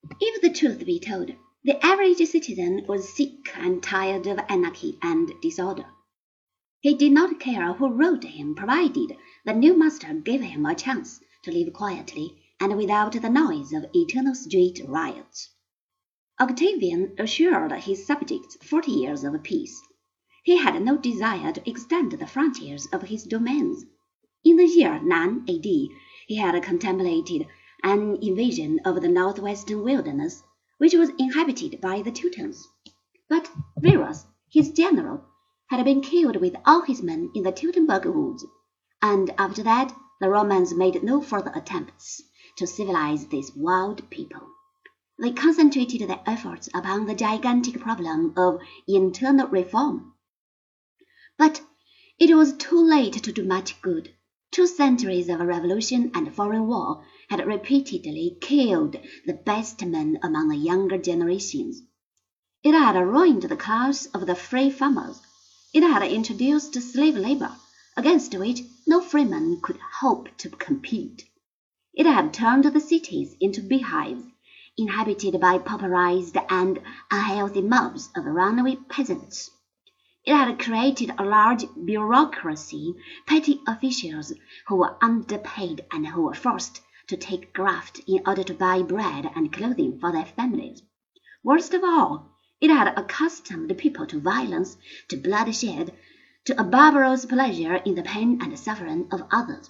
If the truth be told, the average citizen was sick and tired of anarchy and disorder. He did not care who ruled him, provided the new master gave him a chance to live quietly and without the noise of eternal street riots. Octavian assured his subjects 40 years of peace. He had no desire to extend the frontiers of his domains. In the year 9 A.D., he had contemplated an invasion of the northwestern wilderness, which was inhabited by the Teutons. But Verus, his general, had been killed with all his men in the Teutoburg woods, and after that the Romans made no further attempts to civilize this wild people. They concentrated their efforts upon the gigantic problem of internal reform. But it was too late to do much good. 2 centuries of revolution and foreign war had repeatedly killed the best men among the younger generations. It had ruined the class of the free farmers. It had introduced slave labor, against which no freeman could hope to compete. It had turned the cities into beehives, inhabited by pauperized and unhealthy mobs of runaway peasants. It had created a large bureaucracy, petty officials who were underpaid and who were forced to take graft in order to buy bread and clothing for their families. Worst of all, it had accustomed people to violence, to bloodshed, to a barbarous pleasure in the pain and suffering of others.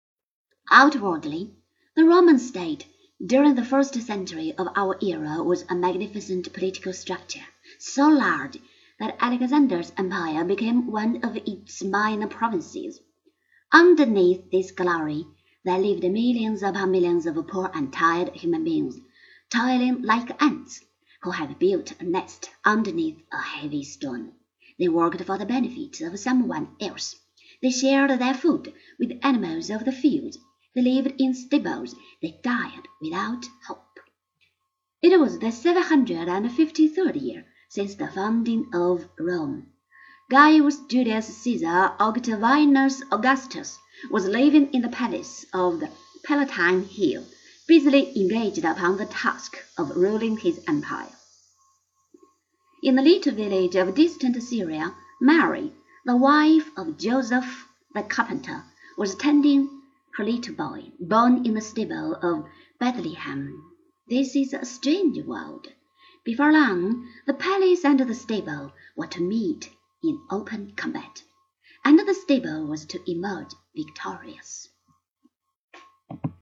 Outwardly, the Roman state during the 1st century of our era was a magnificent political structure, so large that Alexander's empire became one of its minor provinces. Underneath this glory, there lived millions upon millions of poor and tired human beings, toiling like ants, who had built a nest underneath a heavy stone. They worked for the benefit of someone else. They shared their food with animals of the fields. They lived in stables. They died without hope. It was the 753rd year since the founding of Rome. Gaius Julius Caesar Octavianus Augustus was living in the palace of the Palatine Hill, busily engaged upon the task of ruling his empire. In the little village of distant Syria, Mary, the wife of Joseph the carpenter, was tending her little boy, born in the stable of Bethlehem. This is a strange world. Before long, the palace and the stable were to meet in open combat, and the stable was to emerge victorious.